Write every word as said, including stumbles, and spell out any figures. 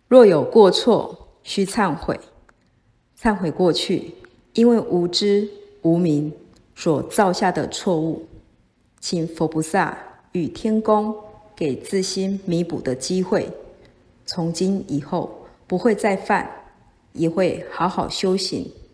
若有过错，须忏悔。忏悔过去因为无知无明所造下的错误，请佛菩萨与天公给自心弥补的机会，从今以后不会再犯，也会好好修行，